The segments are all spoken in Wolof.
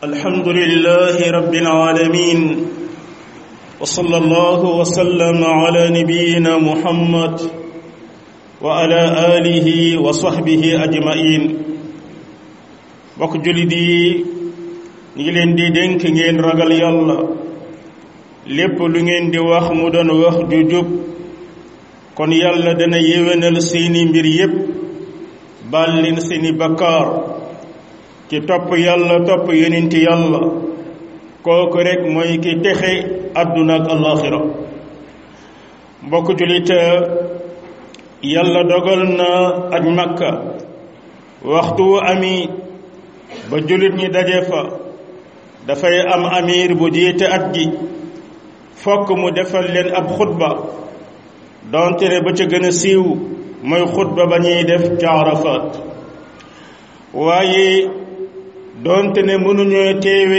الحمد لله رب العالمين وصلى الله وسلم على نبينا محمد وعلى آله وصحبه أجمعين bokk jullit yi ñu ngi leen di dénk ngeen ragal yàlla lépp lu ngeen di wax mu doon wax ju jub kon yàlla dana yéwénal seeni mbir yépp baal leen seeni bakkaar ci topp yàlla topp yonenti yàlla kooku rek mooy ki texe àdduna ak alaxira mbokk jullit yàlla dogal na aj Makka waxtu ami ba jullit ñi daje fa dafay am amir bu jiite at gi fokk mu defal leen ab xutba donte ne ba ca gën a siiw mooy xutba ba ñuy def ca Arafat waaye donte ne mënuñoo teewe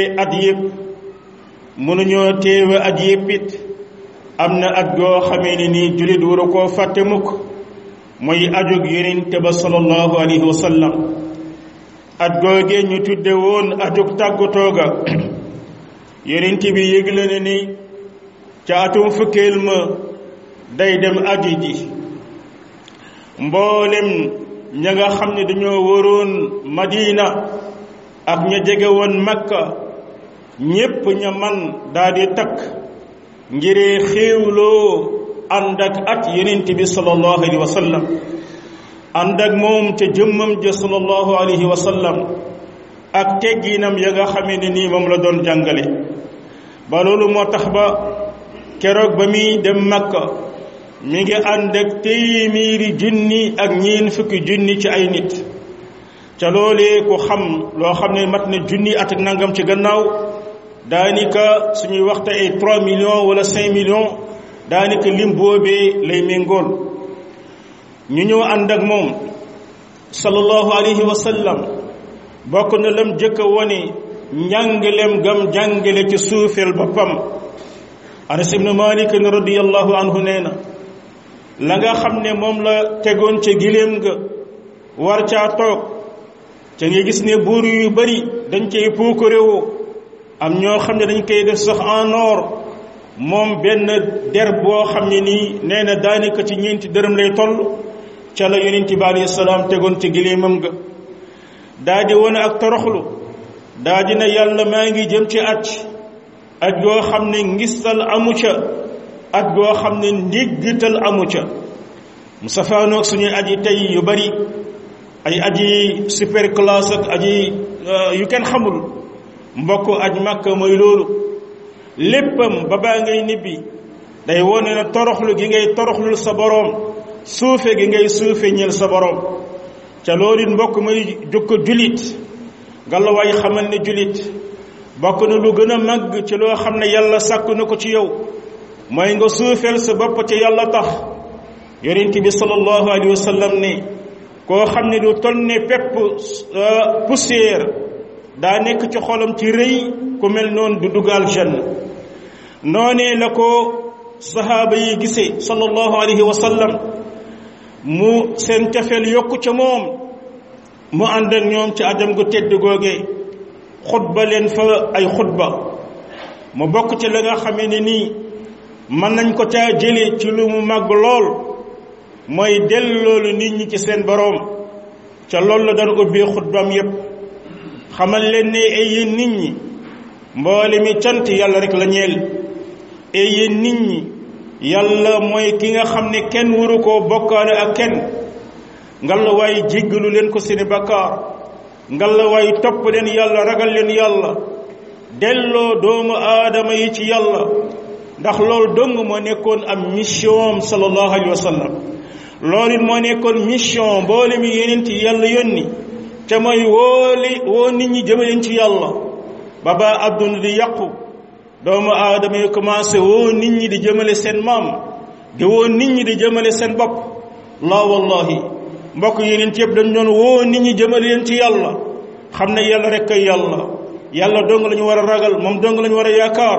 at yépp it am na at goo xamee ne nii jullit waru koo fàtte mukk mooy ajug Yonent ba sallallahu alayhi wa sallam at googee ñu tudde woon ajug tàggatoo ga Yonent bi yëgle na ni ca atum fukkeel ma day dem aji ji mboolem ña nga xam ne dañoo waroon Madina ak ña jege woon Makka ñépp ña man daldi takk ngiree xéewloo ànd ak at Yonent bi sallallahu alayhi wa sallam ànd ak moom ca jëmmam ja sallallahu alayhi wa sallam ak tegginam ya nga xamee ne nii moom la doon jàngale ba loolu moo tax ba keroog ba muy dem Makka mi ngi ànd ak téeméeri junni ak ñeen fukki junni ci ay nit ca loolee ku xam loo xam ne mat na junni at ak nangam ci gannaaw daanaka suñuy waxte ay 3 millions wala 5 millions daanaka lim boobee lay méngool ñu ñëw ànd ak moom sallallahu alayhi wa sallam bokk na lam jëkk a wone njàngalem gam jàngale ci suufeel boppam Anas ibn Malik radiyallahu anhu nee na la nga xam ne moom la tegoon ca giléem nga war caa toog ca nga gis ne buur yu bari dañ cay puukarewoo am ñoo xam ne dañ koy def sax en or moom benn der boo xam ne nii nee na daanaka ci ñeenti dërëm lay toll ca la Yonent bi alayhi salaam tegoon ca giléemam nga daa di wone ak toroxlu daa di na yàlla maa ngi jëm ci at goo xam ne ngistal amu ca at goo xam ne ndiggital amu ca mu safaanoog suñuy aji tey yu bari ay aji super classe ak aji yu kenn xamul mbokk aj Makka mooy loolu léppam ba baa ngay nibbi day wone na toroxlu gi ngay toroxlul sa boroom suufe gi ngay suufe ñeel sa boroom ca loolu it mbokk may jukko julit ngalla waay xamal ne julit bokk na lu gën a màgg ci loo xam ne yàlla sàkk na ko ci yow mooy nga suufeel sa bopp ci yàlla tax Yonent bi sallallahu alayhi wa sallam ne koo xam ne du toll ne pepp poussière daa nekk ci xolam ci rëy ku mel noonu du dugg aljanna noonee la ko sahaaba yi gisee sallallahu alayhi wa sallam mu seen cafeel yokku ca moom mu ànd ak ñoom ci ajam gu tedd googee xutba leen fa ay xutba mu bokk ci la nga xamee ne nii mën nañ ko caa jële ci lu mu màgg lool mooy delloolu nit ñi ci seen boroom ca loolu la daan ubbee xutbaam yépp xamal leen ne ay yéen nit ñi mboole mi cant yàlla rek la ñeel ay yéen nit ñi yàlla mooy ki nga xam ne kenn waru koo bokkaale ak kenn ngalla waay jéggalu leen ko seeni bakkaar ngalla waay topp leen yàlla ragal leen yàlla delloo doomu aadama yi ci yàlla ndax loolu dong moo nekkoon am mission sallallahu alayhi wa sallam loolu it moo nekkoon mission mboole mi Yonent yàlla yónni ca mooy woo nit ñi jëmaleen ci yàlla ba ba adduna di yàqu doomu aadama yi commencé woo nit ñi di jëmale seen maam di woo nit ñi di jëmale seen bopp la wallahi mbokk Yonent yëpp dañ doon woo nit ñi jëmale leen ci yàlla xam ne yàlla rek kay yàlla dong la ñu war a ragal moom dong la ñu war a yaakaar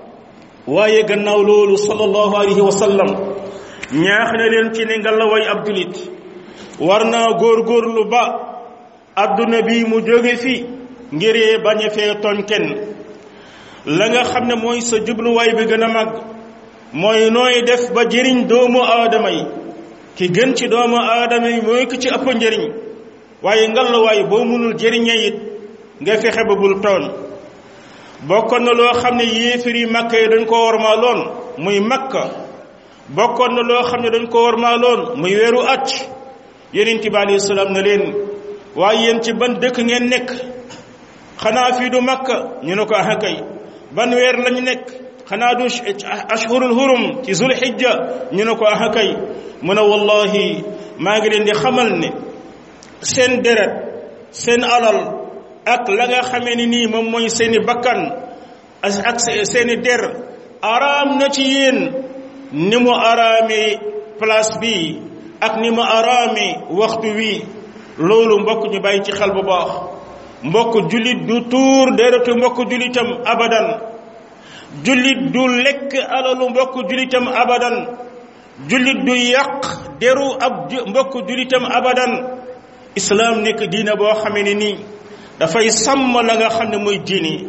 waaye gannaaw loolu sallallahu alayhi wa sallam ñaax na leen ci ne nga la way ab julit war naa góorgóorlu ba adduna bi mu jóge fi ngiree bañ a fee tooñ kenn la nga xam ne mooy sa jubluwaay bi gën a mag mooy nooy def ba jëriñ doomu aadama yi ki gën ci doomu aadama yi mooy ki ci ëpp njëriñ waaye ngallaawaay boo mënul jëriñee it nga fexe ba bul tooñ bokkoon na loo xam ne yéefar yi Makka yi dañ ko wormaaloon muy Makka bokkoon na loo xam ne dañ ko wormaaloon muy weeru at Yonent bi alayhi salaam na leen waaye yéen ci ban dëkk ngeen nekk xanaa fii du Makka ñu ne ko ah kay ban weer lañu nekk xanaa du ashhurul hurum ci zulhijja ñu ne ko ah kay mu ne wallahi maa ngi leen di xamal ne seen deret seen alal ak la nga xamee ni nii moom mooy seeni bakkan ak seeni der araam na ci yéen ni mu araamee place bi ak ni mu araamee waxtu wi loolu mbokk ñu bàyyi ci xel bu baax mbokk jullit du tuur deretu mbokk jullitam abadan jullit du lekk alalu mbokk jullitam abadan jullit du yàq deru ab mbokk jullitam abadan islaam nekk diina boo xamee ne nii dafay sàmm la nga xam ne mooy diini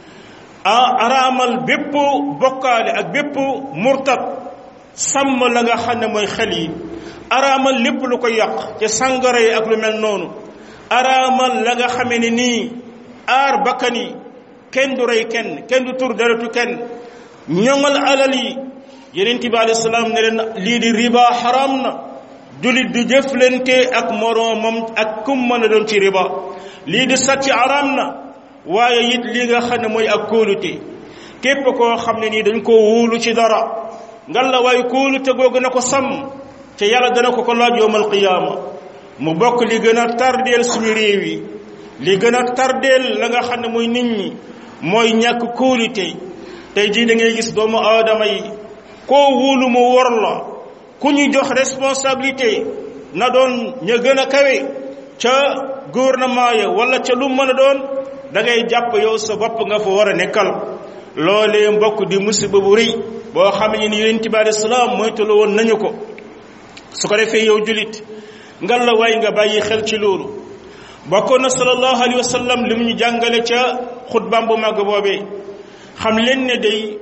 araamal bépp bokkaale ak bépp murtad sàmm la nga xam ne mooy xel yi araamal lépp lu ko yàq ca sàngara yi ak lu mel noonu araamal la nga xamee ne nii aar bakkan yi kenn du rey kenn du tur deretu kenn ñoŋal alal yi Yonent bi alayhi salaam ne leen lii di riba xaraam na jullit du jëflante ak moroomam ak kum mën a doon ci riba lii di sàcc araam na waaye it li nga xam ne mooy ak kóolute képp koo xam ne nii dañ koo wóolu ci dara ngal la waaye kóolute googu na ko sàmm te yàlla dana ko laaj yawmal qiyaama mu bokk li gën a tardeel suñu réew yi li gën a tardeel la nga xam ne mooy nit ñi mooy ñàkk kóolute tey jii da ngay gis doomu aadama yi koo wóolu mu wor la ku ñu jox responsabilité na doon ña gën a kawe ca gouvernement ya wala ca lu mën a doon da ngay jàpp yow sa bopp nga fa war a nekkal loolee mbokk di musiba bu rëy boo xam ne ni Yonent bi alayhi salaam moytulu woon nañu ko su ko defee yow julit ngal la waay nga bàyyi xel ci loolu bokkoon na sallallahu alayhi wa sallam li mu ñu jàngale ca xutbaam bu màgg boobee xam leen ne day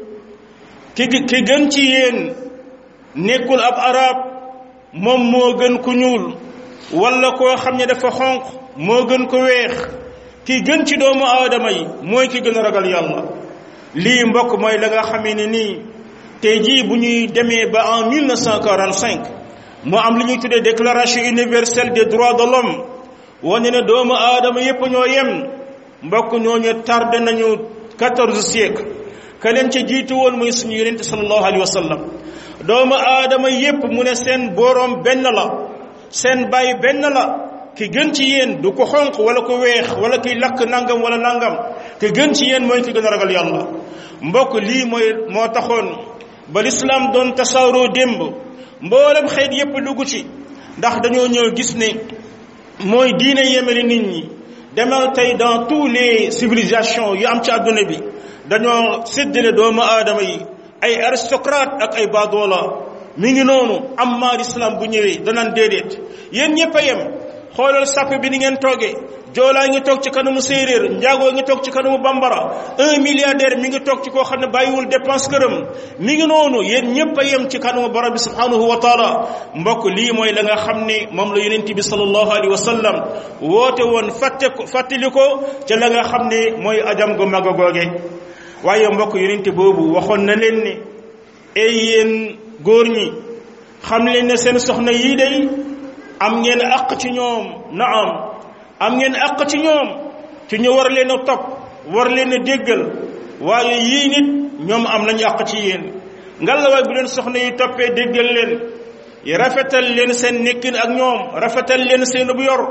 ki gën ci yéen nekkul ab arab moom moo gën ku ñuul wala koo xam ne dafa xonq moo gën ko weex ki gën ci doomu aadama yi mooy ki gën a ragal yàlla lii mbokk mooy la nga xamee ne nii tey jii bu ñuy demee ba en 1945 moo am li ñuy tuddee déclaration universelle des droits de l'homme wane ne doomu aadama yépp ñoo yem mbokk ñooñu tardé nañu 14 siècle ka leen ca jiitu woon mooy suñu yonente sallallahu alayhi wa sallam doomu aadama yépp mu ne seen boroom benn la seen baay benn la ki gën ci yéen du ko xonq wala ko weex wala kiy lakk nangam wala nangam ki gën ci yéen mooy ki gën a ragal yàlla mbokk lii moo taxoon ba lislaam doon tasaaroo démb mboolem xeet yépp dugg ci ndax dañoo ñëw gis ne mooy diine yemale nit ñi demal tey dans tous les civilisations yu am ci àdduna bi dañoo séddale doomu aadama yi ay aristocrate ak ay baadoola mi ngi noonu amma l'islam bu ñëwee danaan déedéet yéen ñëpp a yem xoolal sàpp bi ni ngeen toogee joolaa ngi toog ci kanamu séeréer njaagoo ngi toog ci kanamu bambara 1 milliardaire mi ngi toog ci koo xam ne bàyyiwul dépense këram mi ngi noonu yéen ñëpp a yem ci kanamu borom bi subhanahu wa taala mbokk lii mooy la nga xam ne moom la yonent bi sallallahu alayhi wa sallam woote woon fàttali ko ca la nga xam ne mooy ajam gu mag a googe waaye mbokk yonent boobu waxoon na leen ne ay yéen góor ñi xam leen ne seen soxna yii day am ngeen àq ci ñoom naam am ngeen àq ci ñoom ci ñu war leen a topp war leen a déggal waaye yii nit ñoom am nañu àq ci yéen ngallaawaay bu leen soxna yi toppee déggal leen rafetal leen seen nekkin ak ñoom rafetal leen seen bu yor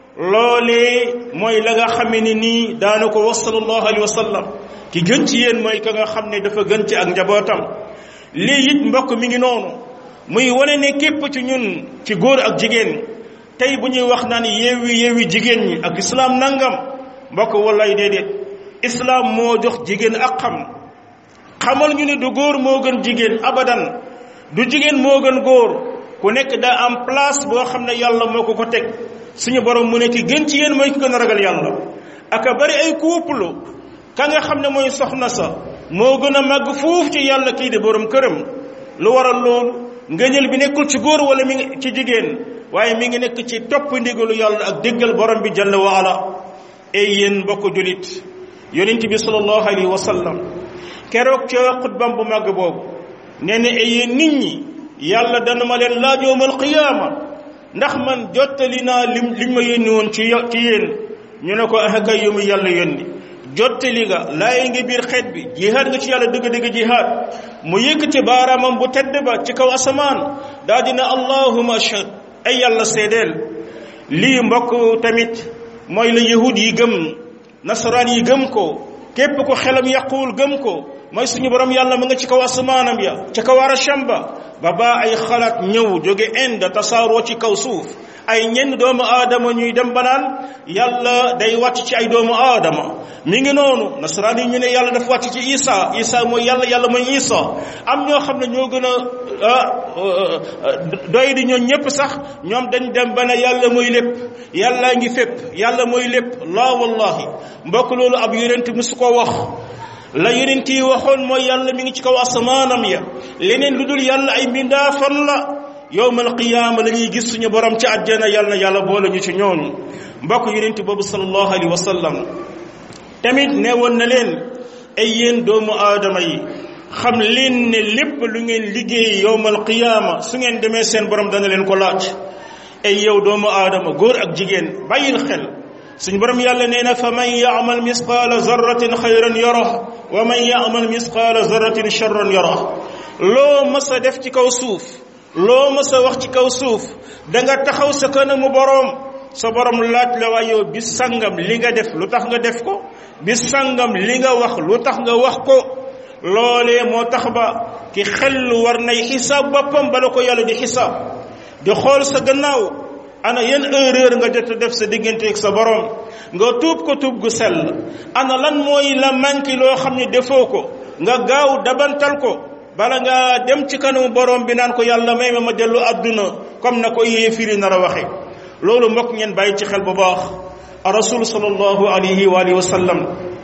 loolee mooy la nga xamee ni nii daana ko wax sallallahu alayhi wa sallam ki gën ci yéen mooy ka nga xam ne dafa gën ci ak njabootam lii it mbokk mi ngi noonu muy wane ne képp ci ñun ci góor ak jigéen tey bu ñuy wax naan yeewi jigéen ñi ak islam nangam mbokk wallaay déedéet islam moo jox jigéen ak xamal ñu ne du góor moo gën jigéen abadan du jigéen moo gën góor ku nekk daa am place boo xam ne yàlla moo ko teg suñu borom mu ne ki gën ci yéen mooy ki gën a ragal yàlla aka bari ay couple ka nga xam ne mooy soxna sa moo gën a màgg fuuf ci yàlla kii di borom këram lu waral loolu ngëneel bi nekkul ci góor wala mi ngi ci jigéen waaye mi ngi nekk ci topp ndigalu yàlla ak déggal borom bi jalla wa ala ay yéen mbokk julit yonent bi sallallahu alayhi wa sallam keroog ca xutbam bu màgg boobu nee na ay yéen nit ñi yàlla dana ma leen laaj yawmal qiyaama ndax man jottali naa liñ ma yónni woon ci yéen ñu ne ko ah kay yu mu yàlla yónni jottali nga laay ngi biir xeet bi jihaad nga ci yàlla dëgg-dëgg jihaad mu yëkkati baaraamam bu tedd ba ci kaw asamaan daa dina allahumma ashhad ay yàlla seedeel lii mbokk tamit mooy la yahud yi gëm nasaraan yi gëm ko képp ko xelam yàquwul gëm ko mooy suñu borom yàlla mu nga ci kaw asamaanam ya ci kaw arasham ba baa ay xalaat ñëw jóge Inde tasaaroo ci kaw suuf ay ñenn doomu aadama ñuy dem banaan yàlla day wàcc ci ay doomu aadama mi ngi noonu nasaraan yi ñu ne yàlla dafa wàcc ci Isa mooy yàlla mooy Isa am ñoo xam ne ñoo gën a doy di ñoo ñëpp sax ñoom dañ dem ba ne yàlla mooy lépp yàllaa ngi fépp yàlla mooy lépp laa wallahi mbokk loolu ab yonent musu ko wax la yonent yi waxoon mooy yàlla mi ngi ci kaw asamaanam ya leneen lu dul yàlla ay mbindaafan la yowmal qiyaama la ñuy gis suñu borom ci àjjana yàlla na yàlla boole ñu ci ñooñu mbokk yonent boobu sallallahu alayhi wa sallam tamit ne woon na leen ay yéen doomu aadama yi xam leen ne lépp lu ngeen liggéey yowmal qiyaama su ngeen demee seen borom dana leen ko laaj ay yow doomu aadama góor ak jigéen bàyyil xel suñu borom yàlla nee na fa man yaamal misqaala zarratin xayran yarah wa man yaamal misqaala zarratin charran yarah loo mës a def ci kaw suuf loo mës a wax ci kaw suuf da nga taxaw sa kanamu borom sa borom laaj la waaye yow bis sangam li nga def lu tax nga def ko bis sangam li nga wax lu tax nga wax ko loolee moo tax ba ki xel war nay xisaab boppam bala ko yàlla di xisaab di xool sa gannaaw ana yan erreur nga jot a def sa diggante ak sa borom nga tuub ko tuub gu sell ana lan mooy la manqué loo xam ne defoo ko nga gaaw dabantal ko bala nga dem ci kanamu borom bi naan ko yàlla may ma dellu àdduna comme na ko yéefiri nar a waxe loolu mbokk ngeen bàyyi ci xel bu baax rasul sallallahu alayhi wa alihi wa sallam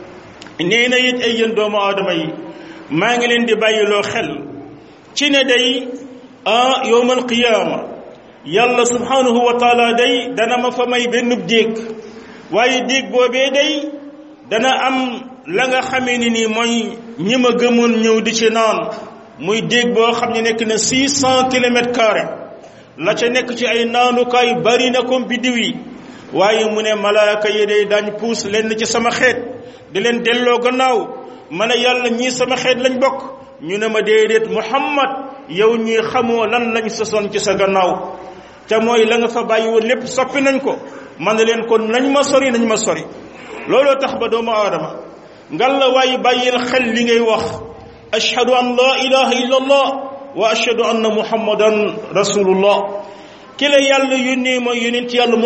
nee na it ay yéen doomu aadama yi maa ngi leen di bàyyiloo xel ci ne day yowmal qiyaama yàlla subhanahu wa taala day dana ma fa may benn déeg waaye déeg boobee day dana am la nga xamee ni nii mooy ñi ma gëmoon ñëw di ci naan muy déeg boo xam ne nekk na 600 kilomètres carrés la ca nekk ci ay naanukaay bari na comme biddiw yi waaye mu ne malaaka yi day daañ puus lenn ci sama xeet di leen delloo gannaaw ma ne yàlla ñii sama xeet lañ bokk ñu ne ma déedéet Muhammad yow ñii xamoo lan lañ sosoon ci sa gannaaw te mooy la nga fa bàyyi woon lépp soppi nañ ko man na leen kon nañ ma sori looloo tax ba doomu aadama ngal la waaye bàyyil xel li ngay wax ashhadu an la ilaha illa allah wa ashhadu anna muhammadan rasulullah ki la yàlla yónnee mooy yonent yàlla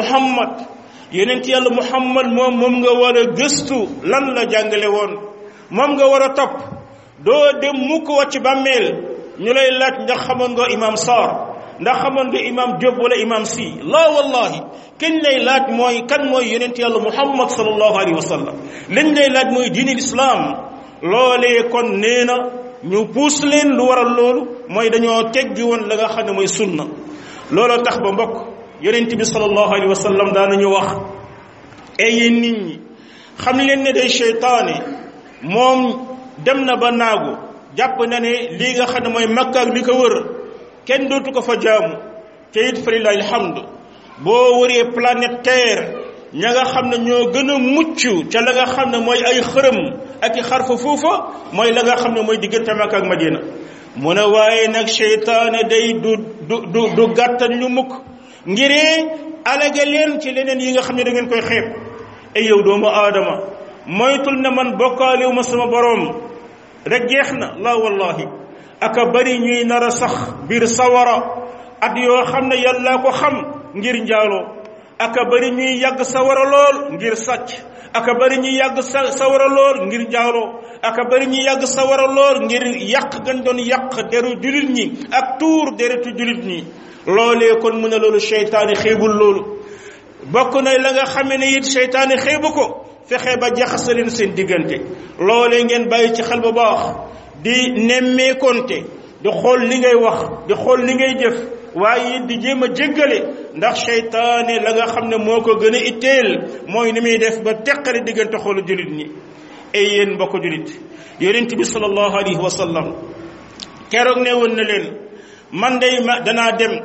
muhammad moom nga war a gëstu lan la jàngale woon moom nga war a topp doo dem mukk wàcc bàmmeel ñu lay laaj ndax xamoon nga imam Sarr ndax xamoon nga imam Diop wala imam si la wallahi kenn lay laaj mooy kan mooy yonent yàlla muhammad sallallahu alayhi wa sallam liñ lay laaj mooy diini lislaam loolee kon nee na ñu puus leen lu waral loolu mooy dañoo teggi woon la nga xam ne mooy sunna looloo tax ba mbokk yonent bi sallallahu alayhi wa sallam daanañu wax ay yéen nit ñi xam leen ne day seytaane moom dem na ba naagu jàpp na ne lii nga xam ne mooy Makka ak li ko wër kenn dootu ko fa jaamu te it fa lillahi alhamdu boo wëree planète terre ña nga xam ne ñoo gën a mucc ca la nga xam ne mooy ay xërëm ak i xarfa foofa mooy la nga xam ne mooy diggante Makka ak Madina mu ne waaye nag seytaane day du gàttal ñu mukk ngiree alage leen ci leneen yi nga xam ne da ngeen koy xeeb ay yow doomu aadama moytul ne man bokkaaliwu ma sama boroom rek jeex na la wallahi aka bari ñuy nar a sax biir sawara at yoo xam ne yàlla ko xam ngir njaaloo aka bari ñuy yàgg sawara lool ngir sàcc aka bari ñuy yàgg sawara lool ngir njaaloo aka bari ñuy yàgg sawara lool ngir yàq gan doon yàq deru julit ñi ak tuur deretu julit ñi loolee kon mu ne loolu seytaane xeebul loolu bokk na la nga xamee ne it seytaane xeebu ko fexe ba jaxasaleen seen diggante loolee ngeen bàyyi ci xel bu baax di nemmeekonte di xool li ngay wax di xool li ngay jëf waaye di jéem a jéggale ndax seytaane la nga xam ne moo ko gën a itteel mooy ni muy def ba teqale diggante xoolu jullit ñi ay yéen mbokk jullit yonent bi sallallahu alayhi wa sallam keroog ne woon na leen man day danaa dem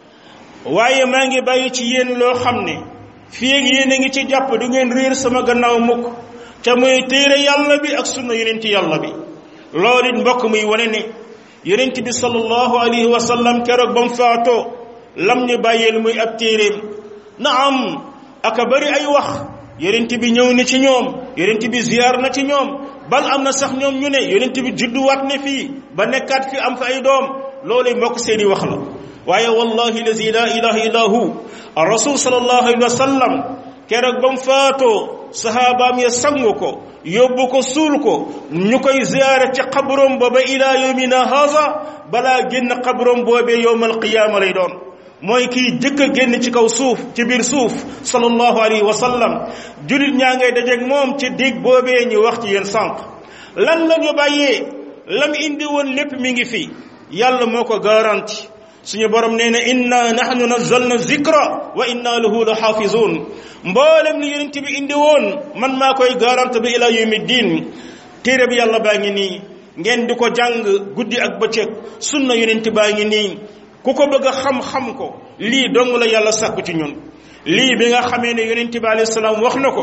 waaye maa ngi bàyyi ci yéen loo xam ne fii ak yéen a ngi ci jàpp du ngeen réer sama gannaaw mukk ca muy téere yàlla bi ak sunna yonent yàlla bi loolu it mbokk muy wane ne yonent bi sallallahu alayhi wa sallam keroog ba mu faatoo lam ñu bàyyeel muy ab téeréem na am aka bari ay wax yonent bi ñëw na ci ñoom yonent bi ziyaar na ci ñoom bal am na sax ñoom ñu ne yonent bi judduwaat ne fii ba nekkaat fi am fa ay doom loolu mbokk seeni wax la waaye wallahi lazi la ilaha illa hu rasul sallallahu alayhi wa sallam keroog ba mu faatoo sahabaam ya sangu ko yóbbu ko suul ko ñu koy ziyaare ci xabrom ba ba ila yawmina haza balaa génn xabrom boobee yowmal qiyaama lay doon mooy kii jëkk a génn ci kaw suuf ci biir suuf sallallahu alayhi wa sallam julit ñaa ngay dajeeg moom ci dig boobee ñu wax ci yéen sànq lan la ñu bàyyee lam indi woon lépp mi ngi fi yàlla moo ko garanti suñu borom nee na inna nahnu nazzalna zikra wa inna lahu la xaafizun mboolem li yonent bi indi woon man maa koy garante bi ila yawmi diin téere bi yàlla baa ngi nii ngeen di ko jàng guddi ak bëccëg sunna yonent baa ngi nii ku ko bëgg a xam-xam ko lii dong la yàlla sàkku ci ñun lii bi nga xamee ne yonent bi alayhi salaam wax na ko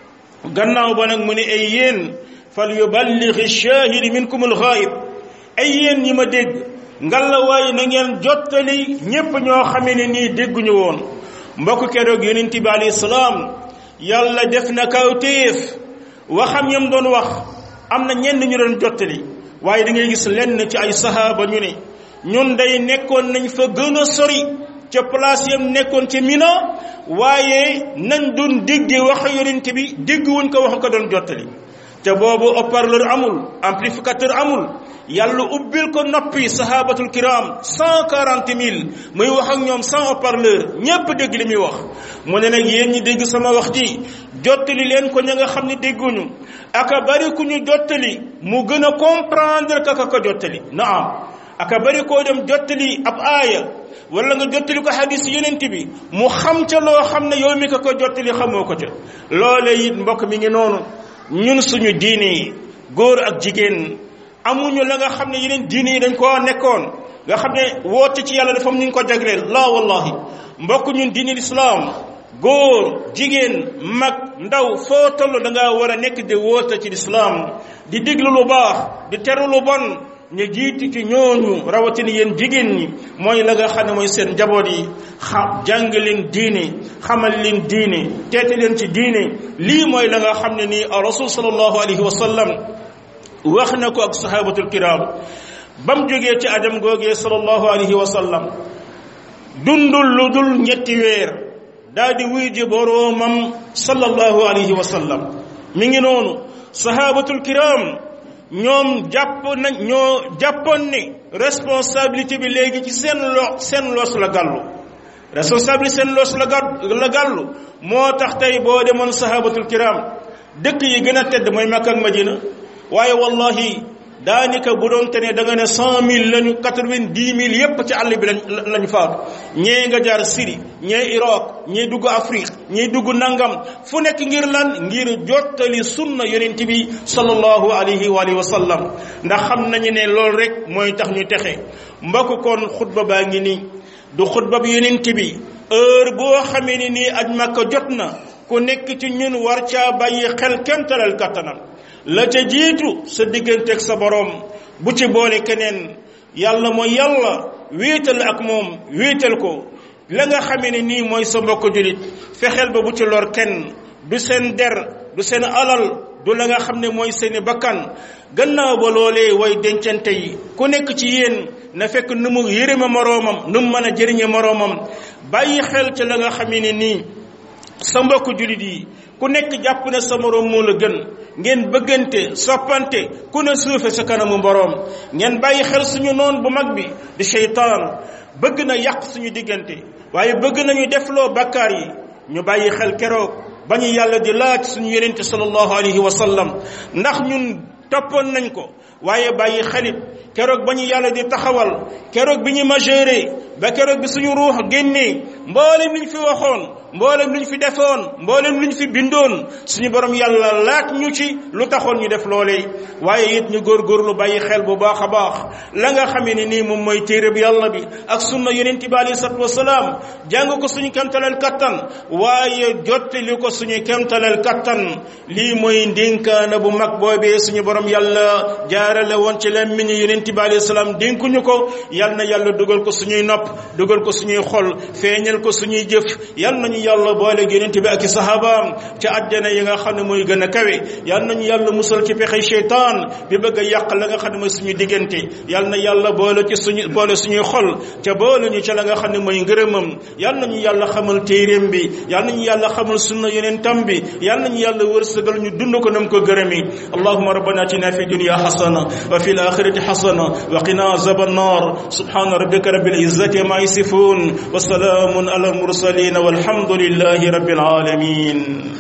gannaaw ba nag mu ne ay yéen fal yuballigh ash-shahid minkum al-ghaib ay yéen ñi ma dégg ngalla waaye na ngeen jottali ñépp ñoo xamee ne nii dégguñu woon mbokk keroog yonent bi alayhi salaam yàlla def na kawtéef waxam yam doon wax am na ñenn ñu doon jottali waaye da ngay gis lenn ci ay sahaaba ñu ne ñun day nekkoon nañ fa gën a sori ca place yam nekkoon ci Mina waaye nañ doon dégg wax yonent bi dégguwuñ ko wax ko doon jottali te boobu haut-parleur amul amplificateur amul yàlla ubbil ko noppi sahabatul kiram 140 000 muy wax ak ñoom sans haut-parleur ñépp dégg li muy wax mu ne nag yéen ñi dégg sama wax ji jottali leen ko ña nga xam ne dégguñu aka bari ku ñu jottali mu gën a comprendre ka ko jottali naam aka bari koo dem jottali ab aaya wala nga jottali ko hadis yonent bi mu xam ca loo xam ne yow mi ko jottali xamoo ko ca loole it mbokk mi ngi noonu ñun suñu diine yi góor ak jigéen amuñu la nga xam ne yeneen diine yi dañ koo nekkoon nga xam ne woote ci yàlla dafa am ñu ko jagleel la wallahi mbokk ñun diine l'islam góor jigéen mag ndaw foo toll da ngaa war a nekk di woote ci l'islam di diglu lu baax di teru lu bon ñu jiiti ci ñooñu rawatina yéen jigéen ñi mooy la nga xam ne mooy seen njaboot yi jàng leen diine xamal leen diine teete leen ci diine lii mooy la nga xam ne nii rasul sallallahu alayhi wa sallam wax na ko ak sahabatul kiram bam jógee ci ajam googee sallallahu alayhi wa sallam dundul lu dul ñetti weer daal di wuy ji boroomam sallallahu alayhi wa sallam mi ngi noonu sahabatul kiram ñoom ñoo jàppoon ne responsabilité bi léegi ci seen loos la gàllu responsabilité seen loos la gàllu moo tax tey boo demoon sahabatul kiram dëkk yi gën a tedd mooy Makka ak Madina waaye wallahi daanaka bu doon te ne da nga ne 100 000 lañu 90 000 yépp ci àll bi lañu faatu ñee nga jaar Syrie ñee Irak ñee dugg Afrique ñee dugg nangam fu nekk ngir lan ngir jottali sunna yonent bi sallallahu alayhi wa sallam ndax xam nañu ne loolu rek mooy tax ñu texe mbokk kon xutba baa ngi nii du xutba bi yonent bi heure boo xamee ni nii aj Makka jot na ku nekk ci ñun war caa bàyyi xel kemtalal kattanam la ca jiitu sa digganteeg sa borom bu ci boole keneen yàlla mooy yàlla wéetal ak moom wéetal ko la nga xamee ne nii mooy sa mbokk julit fexeel ba bu ci lor kenn du seen der du seen alal du la nga xam ne mooy seeni bakkan gannaaw ba loolee way dencante yi ku nekk ci yéen na fekk nu mu yërëme moroomam nu mu mën a jëriñe moroomam bàyyi xel ci la nga xamee ne nii sa mbokk julit yi ku nekk jàpp ne sa moroom moo la gën ngeen bëggante soppante ku ne suufe sa kanamu boroom ngeen bàyyi xel suñu noon bu mag bi di seytaan bëgg na yàq suñu diggante waaye bëgg nañu defloo bakkaar yi ñu bàyyi xel keroog ba ñu yàlla di laaj suñu yonente sallallahu alayhi wa sallam ndax ñun toppoon nañ ko waaye bàyyi xalit keroog ba ñu yàlla di taxawal keroog bi ñu majeure ba keroog bi suñu ruux génnee mboolem liñ fi waxoon mboolem luñ fi defoon mboolem luñ fi bindoon suñu borom yàlla laaj ñu ci lu taxoon ñu def loolee waaye it ñu góorgóorlu bàyyi xel bu baax a baax la nga xamee ne nii moom mooy téere bi yàlla bi ak sunna yonent bi alayhi salaatu wasalaam jàng ko suñu kemtaleel kattan waaye jottali ko suñu kemtaleel kattan lii mooy ndénkaana bu mag boobee suñu borom yàlla jaarale woon ci lammiñu yonent bi alayhi salaam dénkuñu ko yal na yàlla dugal ko suñuy nopp dugal ko suñuy xol feeñal ko suñuy jëf yal nañu yàlla boole yonent bi ak i sahabaam ci àjjana yi nga xam ne mooy gën a kawe yal nañu yàlla musal ci pexe sheytaan bi bëgg a yàq la nga xam ne mooy suñu diggante yal na yàlla boole suñuy xol ca boole ñu ca la nga xam ne mooy ngërëmam yal nañu yàlla xamal téeréem bi yal nañu yàlla xamal sunna yonentam bi yal nañu yàlla wërsëgal ñu dund ko nam ko gërëmi allahumma rabbana atina fi dunya hasana wa fil akhirati hasana wa qina azaban nar subhana rabbika rabbil izzati ma yasifun wa salamun ala al mursalin walhamdulillahi rabbil alamin